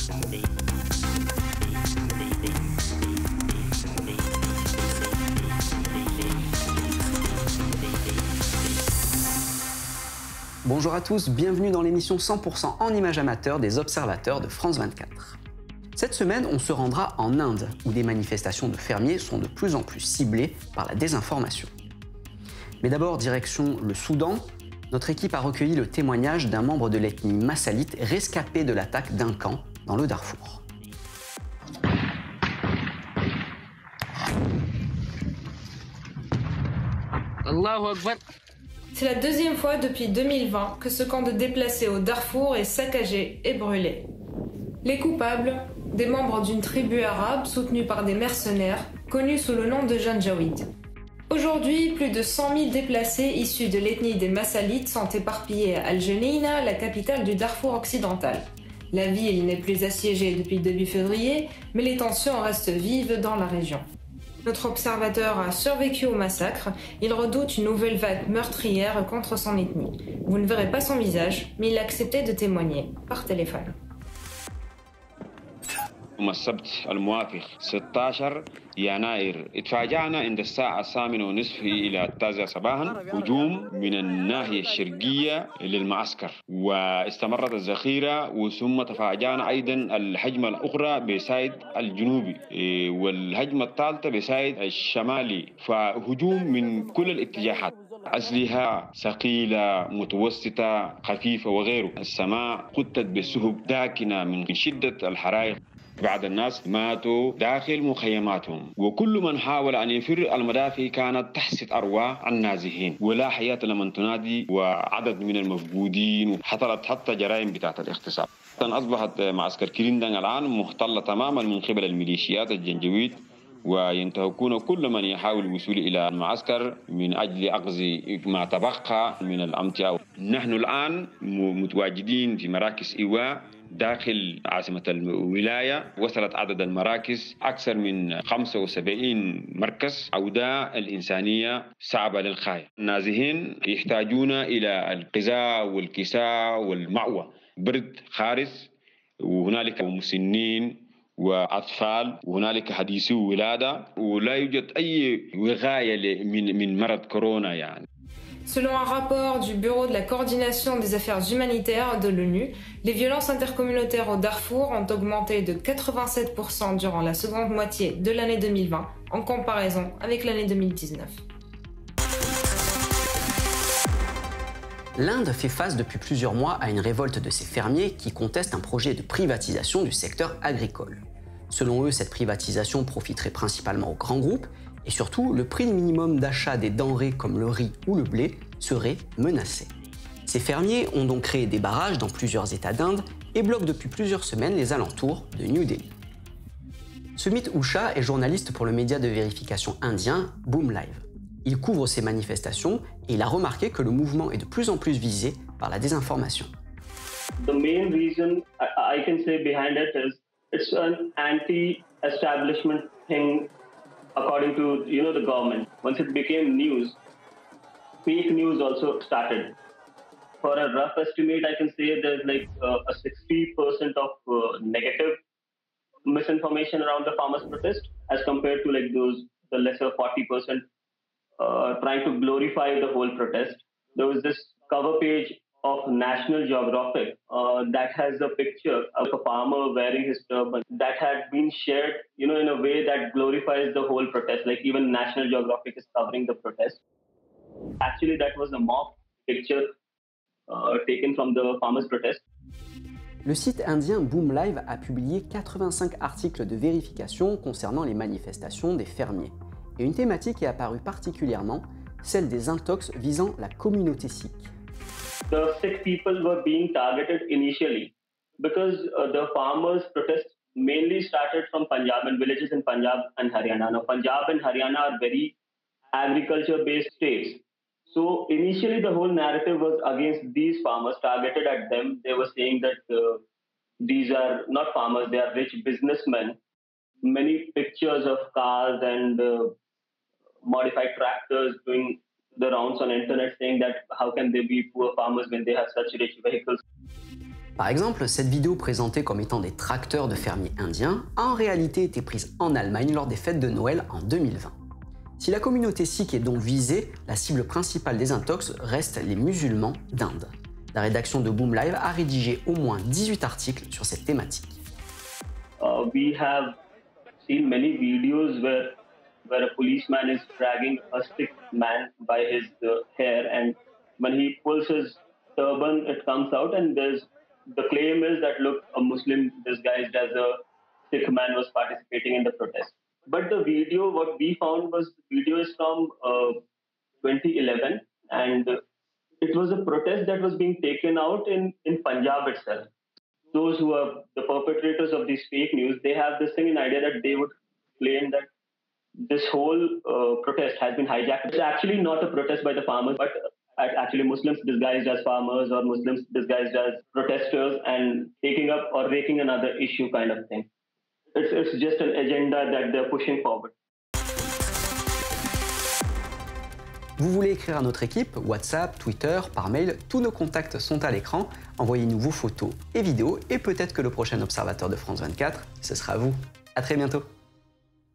Bonjour à tous, bienvenue dans l'émission 100% en images amateurs des observateurs de France 24. Cette semaine, on se rendra en Inde, où des manifestations de fermiers sont de plus en plus ciblées par la désinformation. Mais d'abord, direction le Soudan. Notre équipe a recueilli le témoignage d'un membre de l'ethnie massalite rescapé de l'attaque d'un camp dans le Darfour. Allahu Akbar. C'est la deuxième fois depuis 2020 que ce camp de déplacés au Darfour est saccagé et brûlé. Les coupables, des membres d'une tribu arabe soutenue par des mercenaires, connus sous le nom de Janjaweed. Aujourd'hui, plus de 100 000 déplacés issus de l'ethnie des Massalites sont éparpillés à Al-Jeneina, la capitale du Darfour occidental. La ville n'est plus assiégée depuis début février, mais les tensions restent vives dans la région. Notre observateur a survécu au massacre. Il redoute une nouvelle vague meurtrière contre son ethnie. Vous ne verrez pas son visage, mais il a accepté de témoigner par téléphone. يوم السبت الموافق 16 يناير اتفاجأنا عند الساعة 8:30 إلى 9 صباحا هجوم من الناحية الشرقية للمعسكر واستمرت الذخيرة وثم تفاجأنا أيضا الهجمة الأخرى بسايد الجنوبي والهجمة الثالثة بسايد الشمالي فهجوم من كل الاتجاهات أسلحة ثقيلة متوسطة خفيفة وغيره السماء قطت بسهب داكنة من شدة الحرائق بعض الناس ماتوا داخل مخيماتهم وكل من حاول أن يفر المدافع كانت تحصد أرواح النازحين ولا حياة لمن تنادي وعدد من المفقودين حصلت حتى جرائم بتاعت الاغتصاب. أصبحت معسكر كريندان الآن محتلة تماما من قبل الميليشيات الجنجويد وينتهكون كل من يحاول الوصول إلى المعسكر من أجل أخذ ما تبقى من الأمتعة. نحن الآن متواجدين في مراكز إيواء داخل عاصمة الولاية وصلت عدد المراكز أكثر من 75 مركز عودة الإنسانية صعبة للغاية. النازحين يحتاجون إلى الغذاء والكساء والمأوى برد خارس وهنالك مسنين وأطفال وهنالك حديثي ولادة ولا يوجد أي وقاية من مرض كورونا يعني. Selon un rapport du Bureau de la coordination des affaires humanitaires de l'ONU, les violences intercommunautaires au Darfour ont augmenté de 87% durant la seconde moitié de l'année 2020 en comparaison avec l'année 2019. L'Inde fait face depuis plusieurs mois à une révolte de ses fermiers qui contestent un projet de privatisation du secteur agricole. Selon eux, cette privatisation profiterait principalement aux grands groupes et surtout, le prix minimum d'achat des denrées comme le riz ou le blé serait menacé. Ces fermiers ont donc créé des barrages dans plusieurs États d'Inde et bloquent depuis plusieurs semaines les alentours de New Delhi. Sumit Usha est journaliste pour le média de vérification indien Boom Live. Il couvre ces manifestations et il a remarqué que le mouvement est de plus en plus visé par la désinformation. The main reason I can say behind it is it's an anti-establishment thing according to the government. Once it became news, fake news also started. For a rough estimate, I can say there's like a 60% of negative misinformation around the farmers' protest as compared to like the lesser 40% trying to glorify the whole protest. There was this cover page of National Geographic that has a picture of a farmer wearing his turban that had been shared, in a way that glorifies the whole protest. Like even National Geographic is covering the protest. Actually, that was a mock picture taken from the farmers' protest. Le site indien Boom Live a publié 85 articles de vérification concernant les manifestations des fermiers. Et une thématique est apparue particulièrement, celle des intox visant la communauté sikh. The Sikh people were being targeted initially because the farmers' protest mainly started from Punjab and villages in Punjab and Haryana. Now, Punjab and Haryana are very agriculture-based states. So initially, the whole narrative was against these farmers, targeted at them. They were saying that these are not farmers, they are rich businessmen. Many pictures of cars and modified tractors doing the rounds on internet saying that how can they be poor farmers when they have such rich vehicles. Par exemple, cette vidéo présentée comme étant des tracteurs de fermiers indiens a en réalité été prise en Allemagne lors des fêtes de Noël en 2020. Si la communauté sikh est donc visée, la cible principale des intox reste les musulmans d'Inde. La rédaction de Boom Live a rédigé au moins 18 articles sur cette thématique. We have seen many videos where a policeman is dragging a sick man by his hair, and when he pulls his turban, it comes out, and the claim is that, look, a Muslim disguised as a Sikh man was participating in the protest. But the video, what we found was the video is from 2011, and it was a protest that was being taken out in Punjab itself. Those who are the perpetrators of these fake news, they have this thing in idea that they would claim that this whole protest has been hijacked. It's actually not a protest by the farmers, but actually Muslims disguised as farmers or Muslims disguised as protesters and taking up or raking another issue kind of thing. It's just an agenda that they're pushing forward. Vous voulez écrire à notre équipe? WhatsApp, Twitter, par mail, tous nos contacts sont à l'écran. Envoyez-nous vos photos et vidéos et peut-être que le prochain observateur de France 24, ce sera vous. À très bientôt.